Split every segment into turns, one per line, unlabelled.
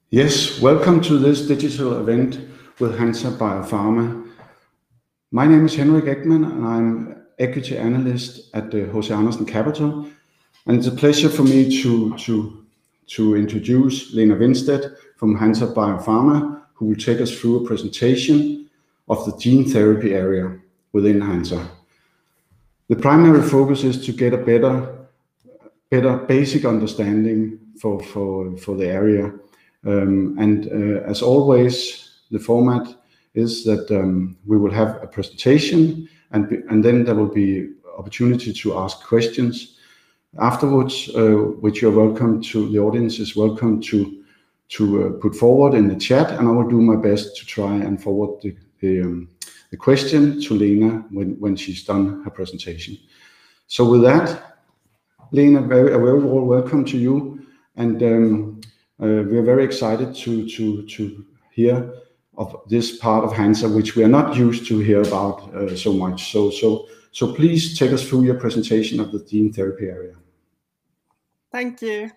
Yes, welcome to this digital event with Hansa Biopharma. My name is Henrik Ekman and I'm equity analyst at the H.C. Andersen Capital. And it's a pleasure for me to introduce Lena Winstedt from Hansa Biopharma, who will take us through a presentation of the gene therapy area within Hansa. The primary focus is to get a better basic understanding for the area. As always, the format is that we will have a presentation and then there will be opportunity to ask questions afterwards, which you're welcome to, the audience is welcome to put forward in the chat, and I will do my best to try and forward the question to Lena when she's done her presentation. So with that, Lena, a very warm welcome to you, and we're very excited to hear of this part of Hansa, which we are not used to hear about so much. So please take us through your presentation of the gene therapy area.
Thank you.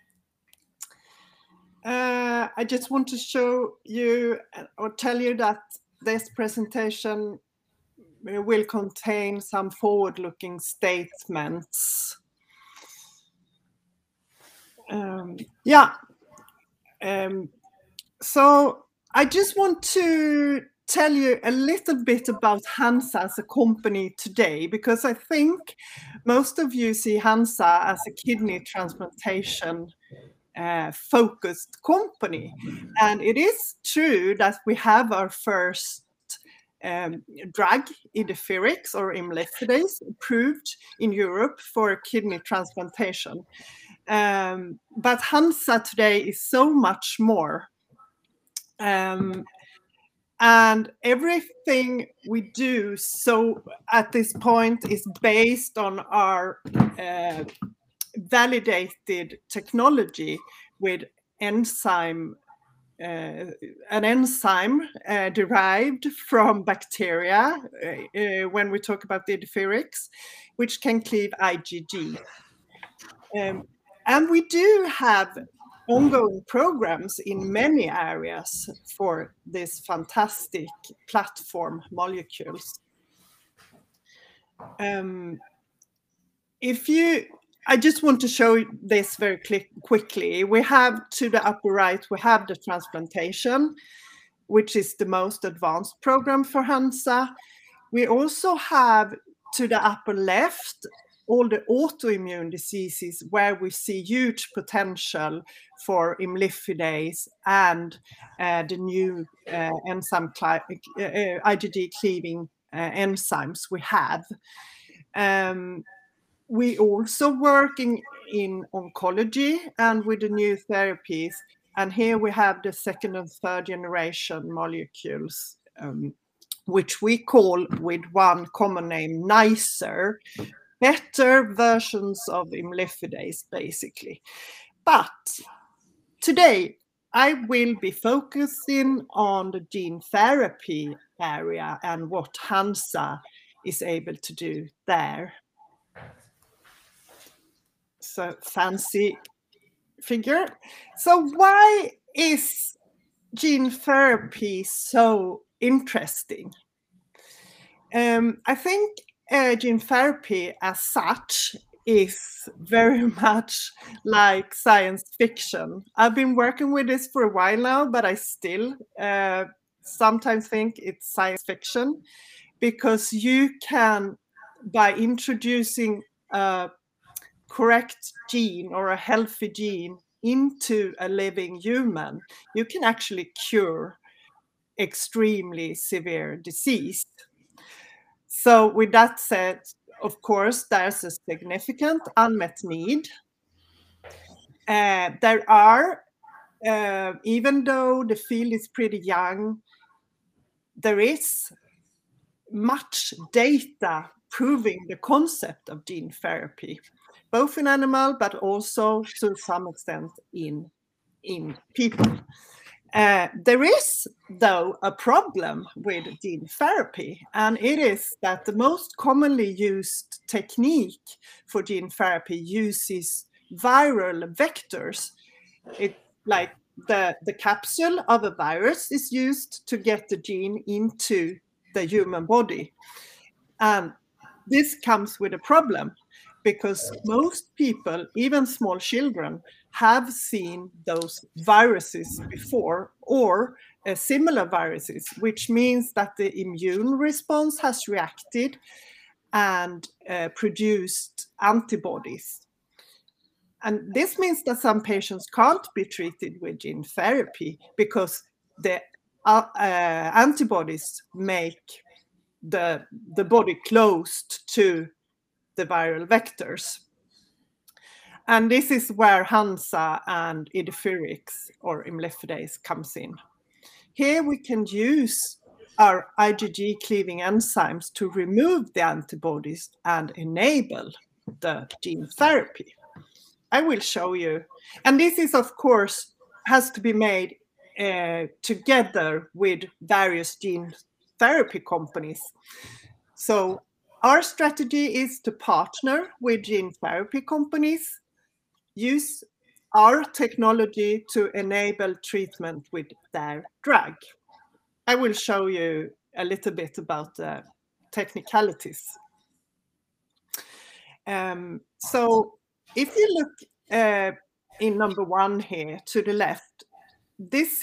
I just want to show you or tell you that this presentation will contain some forward-looking statements. So I just want to tell you a little bit about Hansa as a company today, because I think most of you see Hansa as a kidney transplantation focused company. And it is true that we have our first drug, Idefirix or imlifidase, approved in Europe for kidney transplantation. But Hansa today is so much more. And everything we do so at this point is based on our validated technology with an enzyme derived from bacteria when we talk about the Idefirix, which can cleave IgG. And we do have ongoing programs in many areas for this fantastic platform molecules. I just want to show this very quickly. We have to the upper right, we have the transplantation, which is the most advanced program for Hansa. We also have to the upper left all the autoimmune diseases where we see huge potential for imlifidase and the new enzyme IgG cleaving enzymes we have. We also working in oncology and with the new therapies. And here we have the second and third generation molecules, which we call with one common name, nicer, better versions of imlifidase, basically. But today, I will be focusing on the gene therapy area and what Hansa is able to do there. So fancy figure. So why is gene therapy so interesting? I think gene therapy as such is very much like science fiction. I've been working with this for a while now, but I still sometimes think it's science fiction, because you can, by introducing a correct gene or a healthy gene into a living human, you can actually cure extremely severe disease. So with that said, of course, there's a significant unmet need. There are, even though the field is pretty young, there is much data proving the concept of gene therapy, both in animal, but also to some extent in people. There is, though, a problem with gene therapy, and it is that the most commonly used technique for gene therapy uses viral vectors. It's like the capsule of a virus is used to get the gene into the human body. And this comes with a problem, because most people, even small children, have seen those viruses before, or similar viruses, which means that the immune response has reacted and produced antibodies. And this means that some patients can't be treated with gene therapy because the antibodies make the body closed to the viral vectors. And this is where Hansa and Idefirix or imlifidase comes in. Here we can use our IgG cleaving enzymes to remove the antibodies and enable the gene therapy. I will show you. And this is, of course, has to be made together with various gene therapy companies. So our strategy is to partner with gene therapy companies, use our technology to enable treatment with their drug. I will show you a little bit about the technicalities. So if you look in number 1 here to the left, this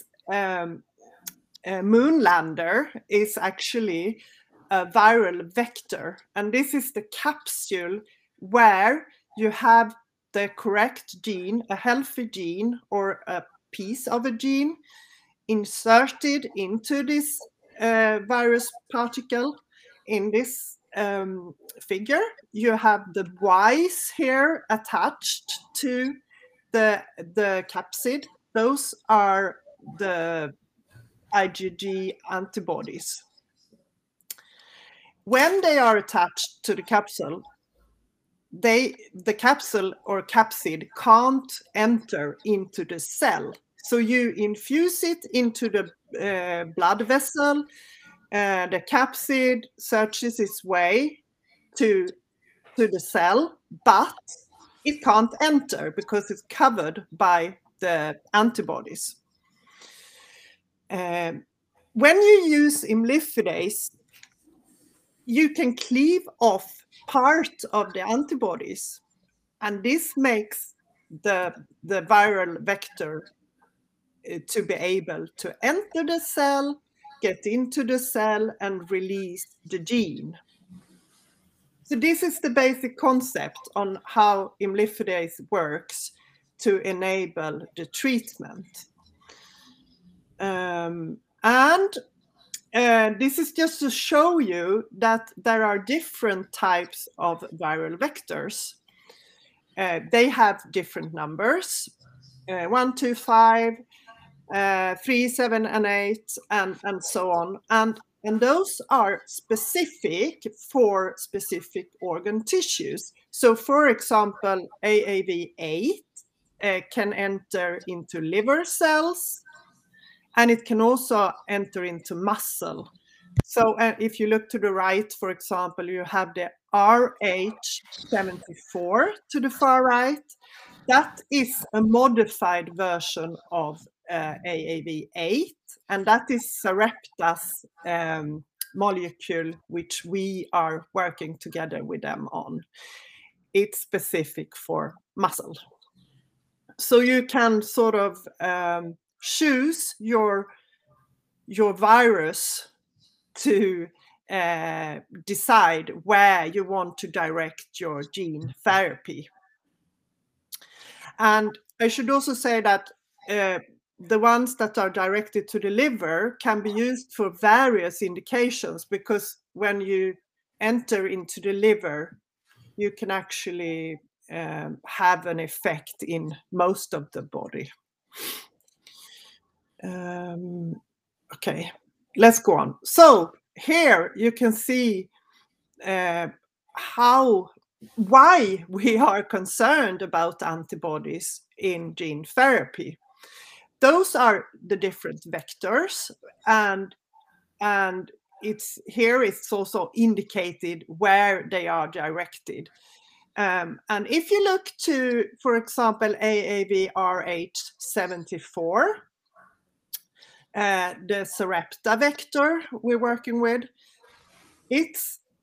moon lander is actually a viral vector, and this is the capsule where you have the correct gene, a healthy gene or a piece of a gene inserted into this virus particle. In this figure, you have the Ys here attached to the capsid. Those are the IgG antibodies. When they are attached to the capsule, the capsule or capsid can't enter into the cell. So you infuse it into the blood vessel, the capsid searches its way to the cell, but it can't enter because it's covered by the antibodies. When you use imlifidase, you can cleave off part of the antibodies, and this makes the viral vector to be able to enter the cell, get into the cell, and release the gene. So this is the basic concept on how imlifidase works to enable the treatment. This is just to show you that there are different types of viral vectors. They have different numbers, 1, 2, 5, 3, 7, and 8, and so on. And those are specific for specific organ tissues. So, for example, AAV8 can enter into liver cells, and it can also enter into muscle. So if you look to the right, for example, you have the RH74 to the far right. That is a modified version of AAV8, and that is Sarepta's molecule, which we are working together with them on. It's specific for muscle. So you can sort of choose your virus to decide where you want to direct your gene therapy. And I should also say that the ones that are directed to the liver can be used for various indications, because when you enter into the liver, you can actually have an effect in most of the body. Okay, let's go on. So here you can see why we are concerned about antibodies in gene therapy. Those are the different vectors, and it's also indicated where they are directed. And if you look to, for example, AAVrh74, the Sarepta vector we're working with, it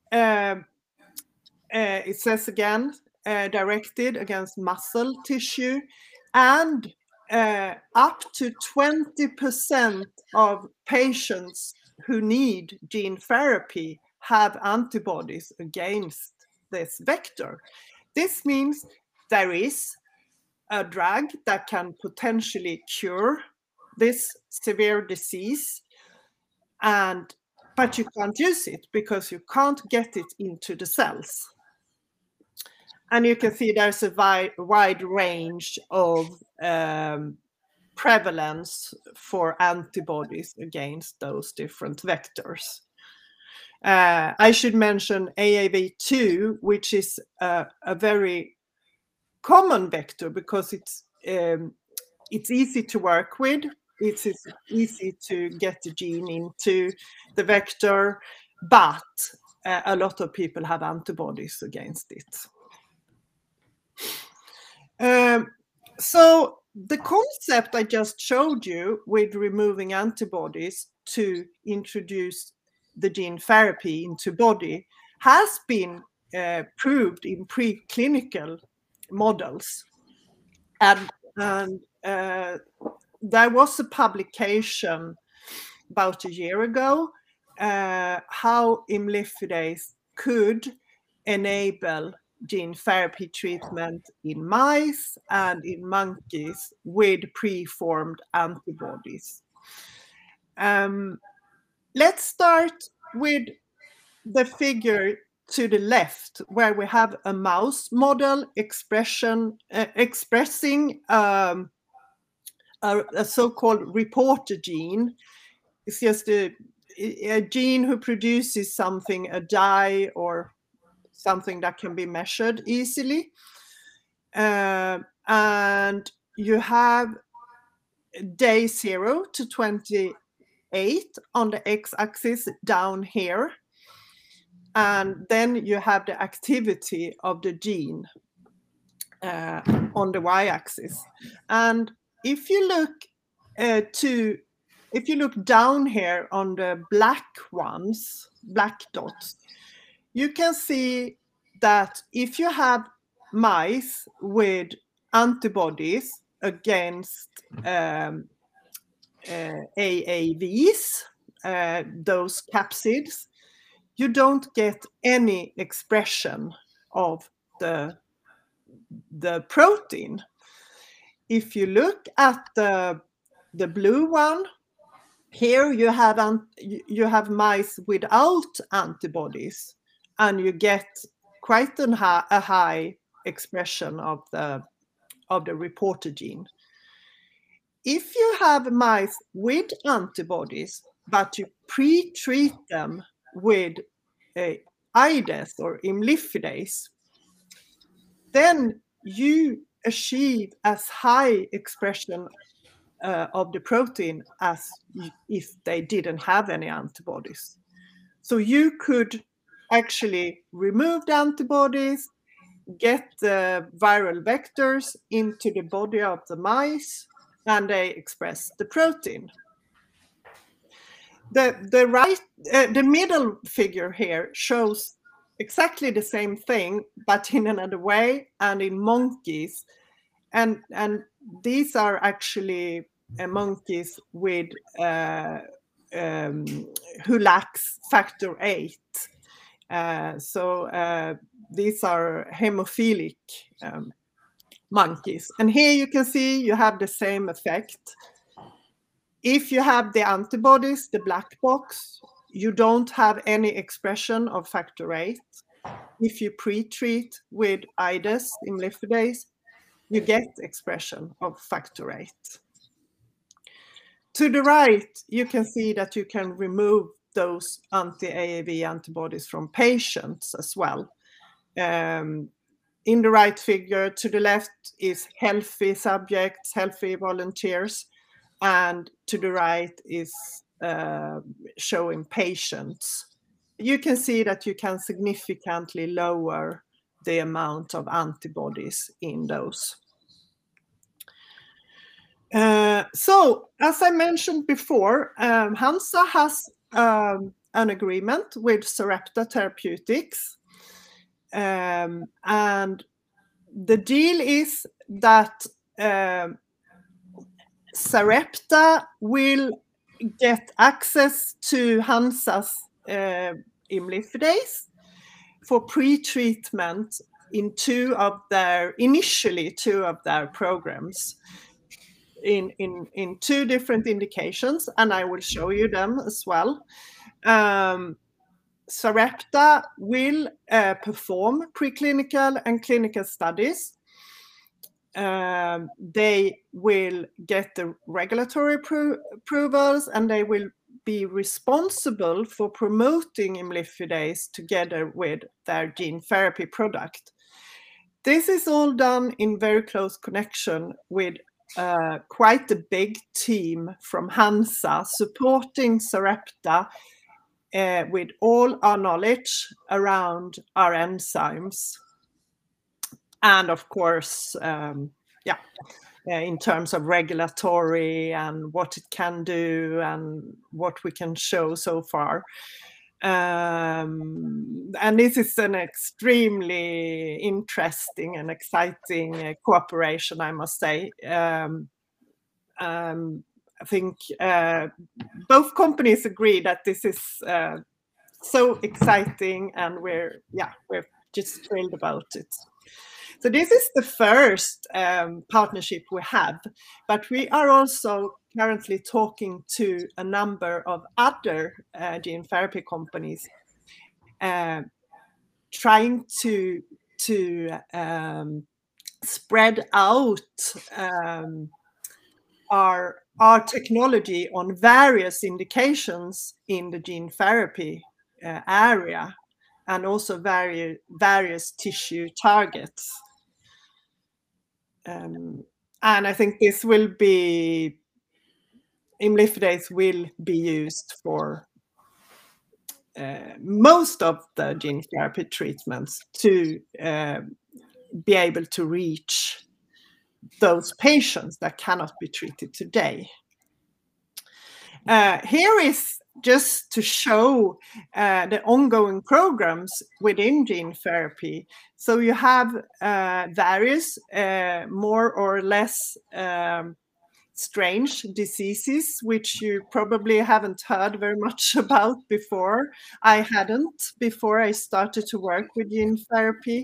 says again, directed against muscle tissue, and up to 20% of patients who need gene therapy have antibodies against this vector. This means there is a drug that can potentially cure this severe disease, but you can't use it because you can't get it into the cells. And you can see there's a wide range of prevalence for antibodies against those different vectors. I should mention AAV2, which is a very common vector because it's easy to work with. It's easy to get the gene into the vector, but a lot of people have antibodies against it. So the concept I just showed you with removing antibodies to introduce the gene therapy into body has been proved in preclinical models. And there was a publication about a year ago how imlifidase could enable gene therapy treatment in mice and in monkeys with preformed antibodies. Let's start with the figure to the left, where we have a mouse model expressing a so-called reporter gene. It's just a gene who produces something, a dye or something that can be measured easily. And you have day 0 to 28 on the x-axis down here. And then you have the activity of the gene on the y-axis. And if you look down here on the black dots, you can see that if you have mice with antibodies against AAVs, those capsids, you don't get any expression of the protein. If you look at the blue one, here you have mice without antibodies, and you get quite a high expression of the reporter gene. If you have mice with antibodies, but you pre-treat them with IDES or imlifidase, then you achieve as high expression of the protein as if they didn't have any antibodies. So you could actually remove the antibodies, get the viral vectors into the body of the mice, and they express the protein. The middle figure here shows exactly the same thing, but in another way and in monkeys. And these are actually monkeys with who lacks factor VIII. So these are hemophilic monkeys. And here you can see you have the same effect. If you have the antibodies, the black box, you don't have any expression of factor VIII. If you pre-treat with IDES, imlifidase, you get expression of factor VIII. To the right, you can see that you can remove those anti-AAV antibodies from patients as well. In the right figure, to the left is healthy subjects, healthy volunteers, and to the right is showing patients. You can see that you can significantly lower the amount of antibodies in those. So, as I mentioned before, Hansa has an agreement with Sarepta Therapeutics, and the deal is that Sarepta will get access to Hansa's imlifidase for pre-treatment in initially two of their programs in two different indications, and I will show you them as well. Sarepta will perform preclinical and clinical studies. They will get the regulatory approvals, and they will be responsible for promoting imlifidase together with their gene therapy product. This is all done in very close connection with quite a big team from Hansa supporting Sarepta with all our knowledge around our enzymes. And of course, in terms of regulatory and what it can do and what we can show so far. And this is an extremely interesting and exciting cooperation, I must say. I think both companies agree that this is so exciting, and we're just thrilled about it. So this is the first partnership we have, but we are also currently talking to a number of other gene therapy companies, trying to spread out our technology on various indications in the gene therapy area, and also various tissue targets. And I think this will be, imlifidase will be used for most of the gene therapy treatments to be able to reach those patients that cannot be treated today. Here is just to show the ongoing programs within gene therapy. So you have various more or less strange diseases, which you probably haven't heard very much about before. I hadn't before I started to work with gene therapy.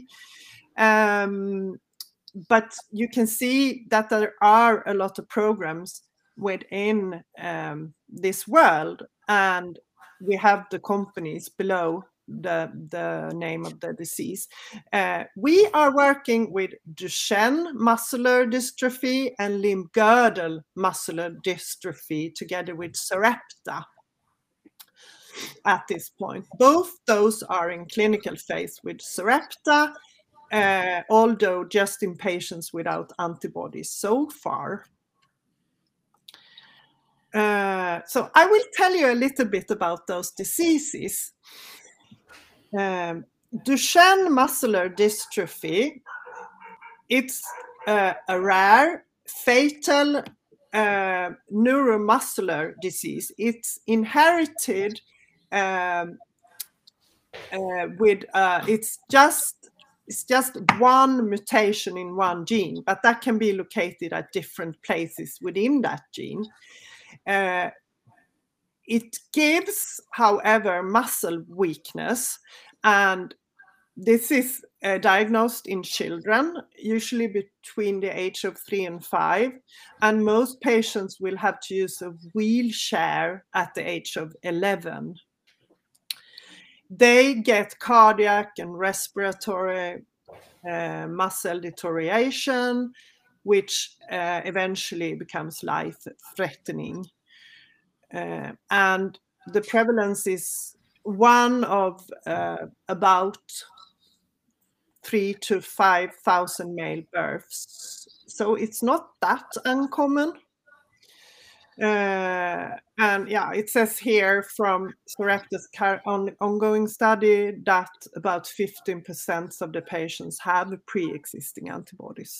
But you can see that there are a lot of programs within this world, and we have the companies below the name of the disease. We are working with Duchenne muscular dystrophy and limb-girdle muscular dystrophy together with Sarepta at this point. Both those are in clinical phase with Sarepta, although just in patients without antibodies so far. So I will tell you a little bit about those diseases. Duchenne muscular dystrophy, it's a rare, fatal neuromuscular disease. It's inherited with, it's just one mutation in one gene, but that can be located at different places within that gene. It gives, however, muscle weakness, and this is diagnosed in children, usually between the age of 3 and 5, and most patients will have to use a wheelchair at the age of 11. They get cardiac and respiratory muscle deterioration, which eventually becomes life-threatening. And the prevalence is one of about 3,000 to 5,000 male births. So it's not that uncommon. And yeah, it says here from Sarepta's ongoing study that about 15% of the patients have pre-existing antibodies.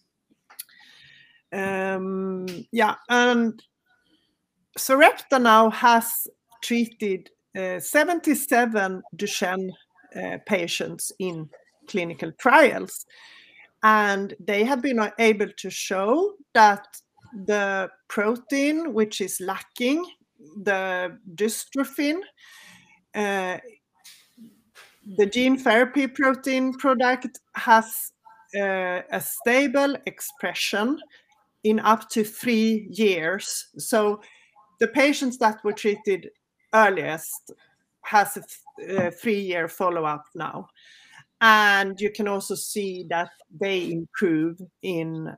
Yeah, and Sarepta now has treated 77 Duchenne patients in clinical trials, and they have been able to show that the protein which is lacking, the dystrophin, the gene therapy protein product, has a stable expression in up to 3 years. So the patients that were treated earliest has a 3-year follow-up now. And you can also see that they improve in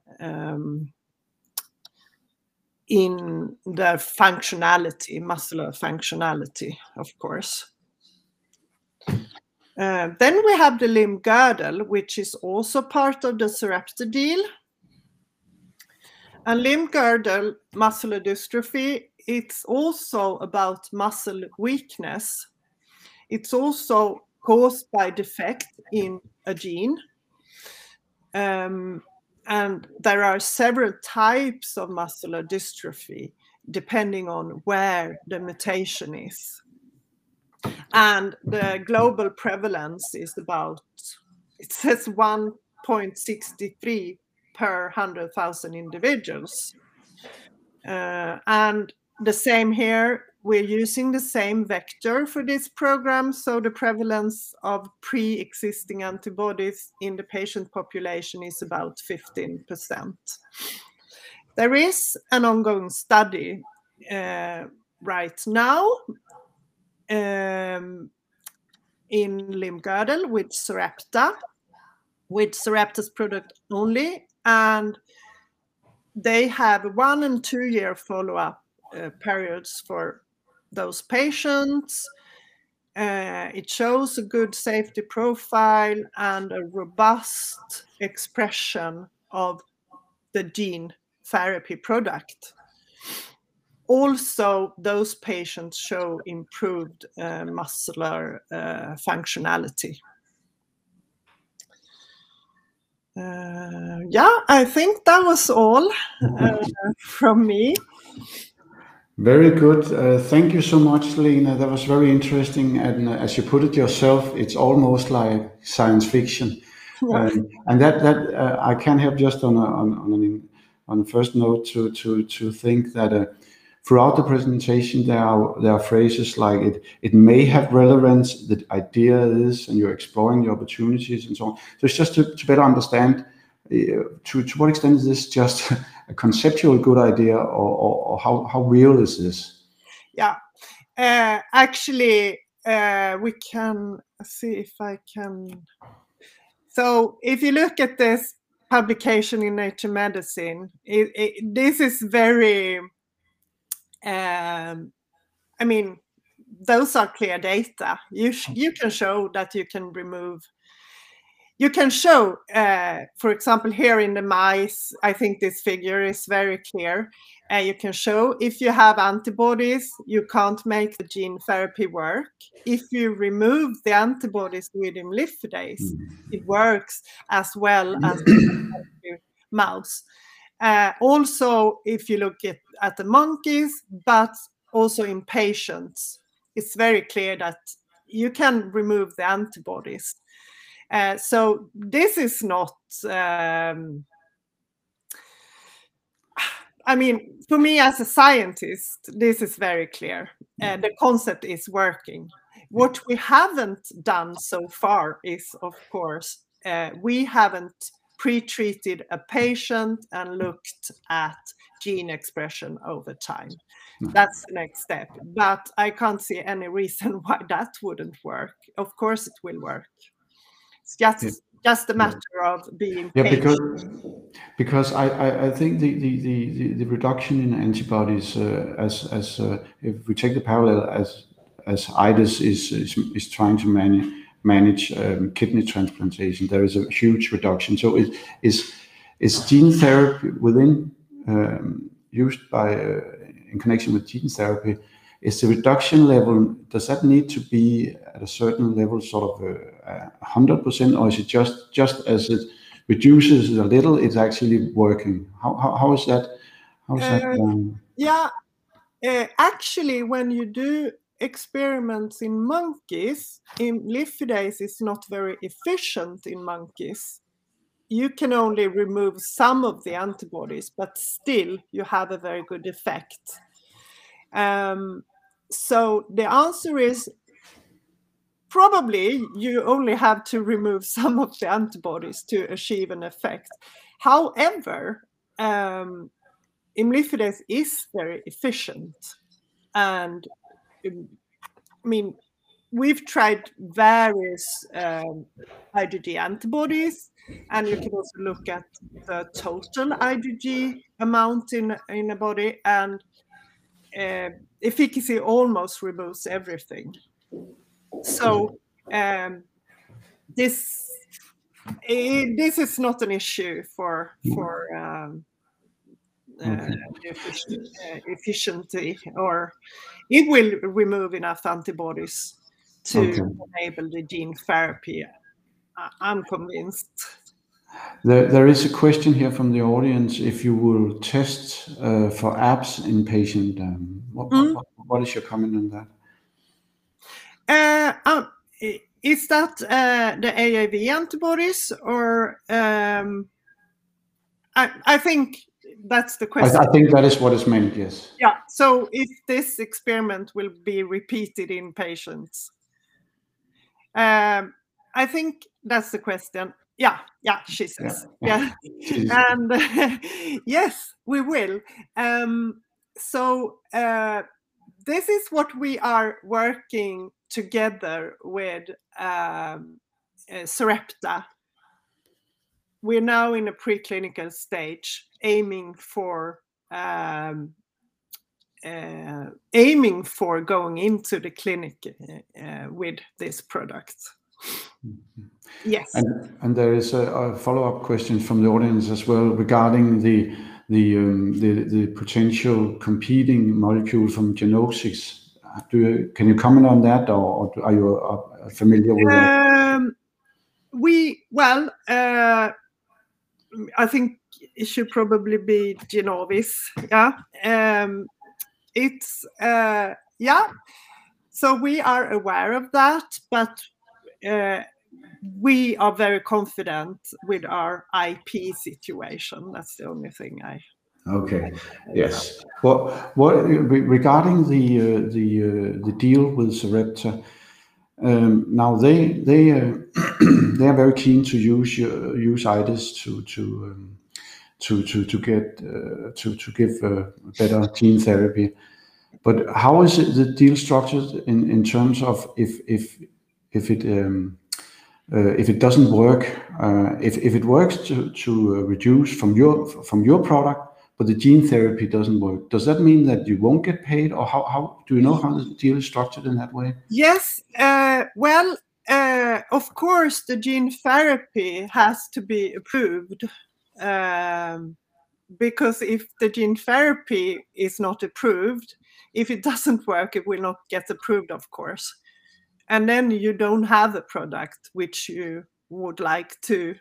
the functionality, muscular functionality, of course. Then we have the limb girdle, which is also part of the Sarepta deal. And limb girdle muscular dystrophy, it's also about muscle weakness. It's also caused by defect in a gene. And there are several types of muscular dystrophy depending on where the mutation is. And the global prevalence is about, it says 1.63 per 100,000 individuals. And the same here, we're using the same vector for this program, so the prevalence of pre-existing antibodies in the patient population is about 15%. There is an ongoing study right now in limb girdle with Sarepta's product only, and they have 1 and 2 year follow-up periods for those patients. It shows a good safety profile and a robust expression of the gene therapy product. Also, those patients show improved muscular functionality. Yeah, I think that was all from me.
Very good. Thank you so much, Lena. That was very interesting. And as you put it yourself, it's almost like science fiction. Yeah. And that I can't help just on a first note to think that throughout the presentation there are phrases like it may have relevance, the idea is, and you're exploring the opportunities and so on. So it's just to better understand to what extent is this just a conceptual good idea, or how real is this?
Yeah, actually, we can see if I can. So if you look at this publication in Nature Medicine, this is very, I mean, those are clear data. You can show that you can remove. You can show, for example, here in the mice, I think this figure is very clear. You can show if you have antibodies, you can't make the gene therapy work. If you remove the antibodies with imlifidase, it works as well as the mouse. Also, if you look at the monkeys, but also in patients, it's very clear that you can remove the antibodies. So this is not, I mean, for me as a scientist, this is very clear. The concept is working. What we haven't done so far is, of course, we haven't pre-treated a patient and looked at gene expression over time. That's the next step. But I can't see any reason why that wouldn't work. Of course it will work. It's just a matter of being patient.
Because I think the reduction in antibodies as if we take the parallel as IDES is trying to manage kidney transplantation, there is a huge reduction. So is gene therapy within used by in connection with gene therapy, is the reduction level, does that need to be at a certain level, sort of 100%, or is it just as it reduces a little, it's actually working? How is that? How is that?
Yeah, actually, when you do experiments in monkeys, imlifidase is not very efficient in monkeys. You can only remove some of the antibodies, but still you have a very good effect. So the answer is probably you only have to remove some of the antibodies to achieve an effect. However, imlifidase is very efficient. And I mean, we've tried various IgG antibodies, and you can also look at the total IgG amount in a body, and efficacy almost removes everything. So this is not an issue for efficiency, or it will remove enough antibodies to enable the gene therapy. I'm convinced.
There is a question here from the audience. If you will test for ABS in patient, what is your comment on
that? Is that the AAV antibodies, or I think that's the question.
I think that is what is meant, yes.
Yeah, so if this experiment will be repeated in patients. I think that's the question. Yeah, she says. Yeah. And yes, we will. So this is what we are working together with Sarepta. We're now in a preclinical stage, aiming for going into the clinic with this product. Yes.
And there is a follow-up question from the audience as well regarding the potential competing molecule from Genosics. Can you comment on that, or are you familiar with that?
I think it should probably be Genovis. Yeah. So we are aware of that, but we are very confident with our IP situation. That's the only thing I.
Okay. Yes. Well, regarding the deal with Sarepta, now they are very keen to use IDES to give better gene therapy. But how is the deal structured in terms of if it doesn't work, if it works to reduce from your product, but the gene therapy doesn't work, does that mean that you won't get paid, or how do you know how the deal is structured in that way?
Yes. Of course, the gene therapy has to be approved. Because if the gene therapy is not approved, if it doesn't work, it will not get approved, of course. And then you don't have a product which you would like to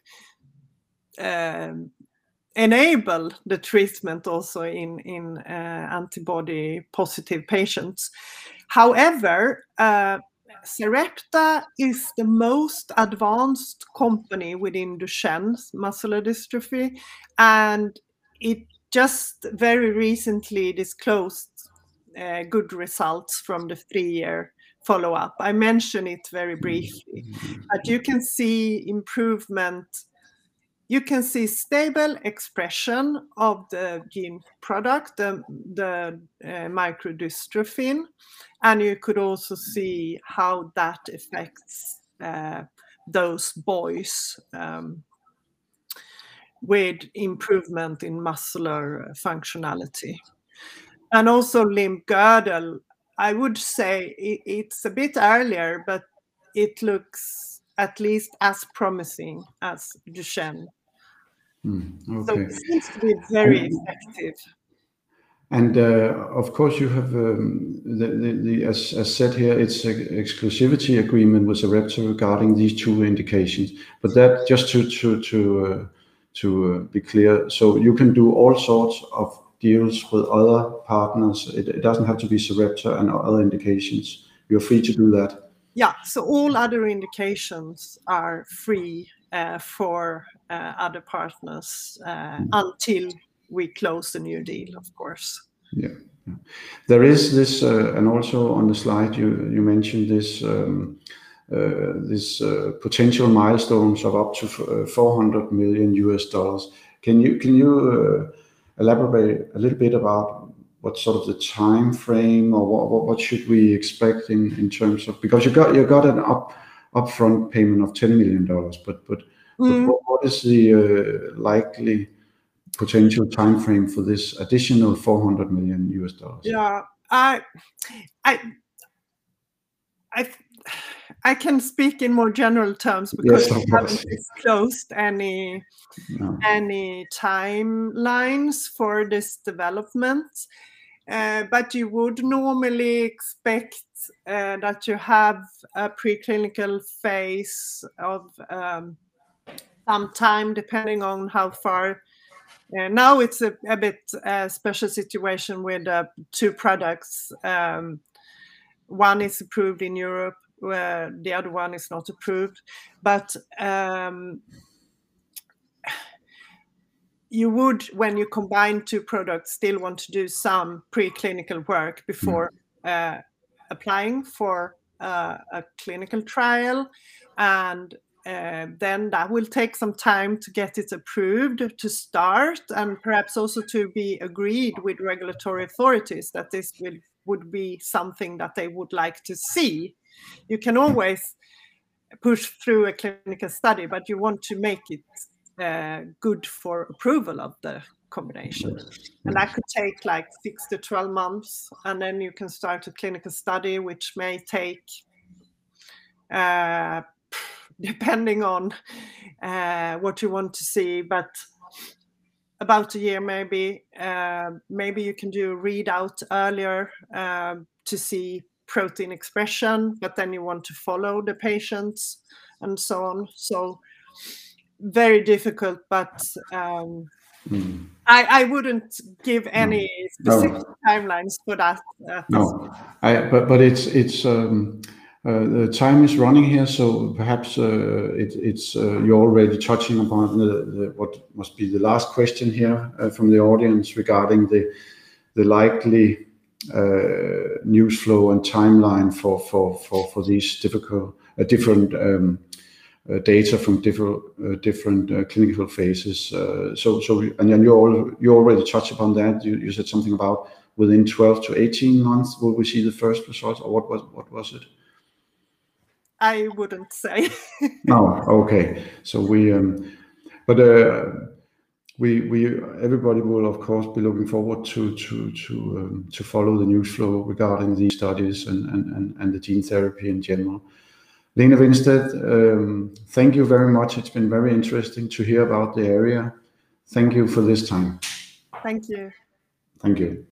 enable the treatment also in antibody positive patients. However, Sarepta is the most advanced company within Duchenne muscular dystrophy, and it just very recently disclosed good results from the 3-year follow-up. I mentioned it very briefly, but you can see improvement. You can see stable expression of the gene product, the microdystrophin, and you could also see how that affects those boys with improvement in muscular functionality. And also limb girdle, I would say it's a bit earlier, but it looks at least as promising as Duchenne.
Okay.
So it seems to be very effective.
And of course, you have as said here, it's an exclusivity agreement with Sarepta regarding these 2 indications. But that just to be clear, so you can do all sorts of deals with other partners. It doesn't have to be Sarepta and other indications. You're free to do that.
Yeah, so all other indications are free for other partners until we close the new deal, of course.
Yeah. There is this, and also on the slide you mentioned this potential milestones of up to $400 million. Can you elaborate a little bit about what sort of the time frame, or what should we expect in terms of, because you got an upfront payment of $10 million, but what is the likely potential time frame for this additional $400 million?
Yeah, I can speak in more general terms because we haven't disclosed any timelines for this development. But you would normally expect that you have a preclinical phase of some time, depending on how far. Now it's a bit special situation with 2 products. One is approved in Europe, where the other one is not approved. But you would, when you combine 2 products, still want to do some preclinical work before applying for a clinical trial. And then that will take some time to get it approved to start, and perhaps also to be agreed with regulatory authorities that this would be something that they would like to see. You can always push through a clinical study, but you want to make it good for approval of the combination. And that could take like 6 to 12 months, and then you can start a clinical study, which may take depending on what you want to see, but about a year maybe. Maybe you can do a readout earlier to see protein expression, but then you want to follow the patients and so on. So very difficult, but I wouldn't give any specific timelines for that.
No, but it's the time is running here, so perhaps it's you're already touching upon what must be the last question here from the audience regarding the likely news flow and timeline for these different data from different clinical phases. And then you already touched upon that. You said something about within 12 to 18 months will we see the first results, or what was it?
I wouldn't say.
No, okay. So everybody will of course be looking forward to follow the news flow regarding these studies and the gene therapy in general. Lene Winstedt, thank you very much. It's been very interesting to hear about the area. Thank you for this time.
Thank you.
Thank you.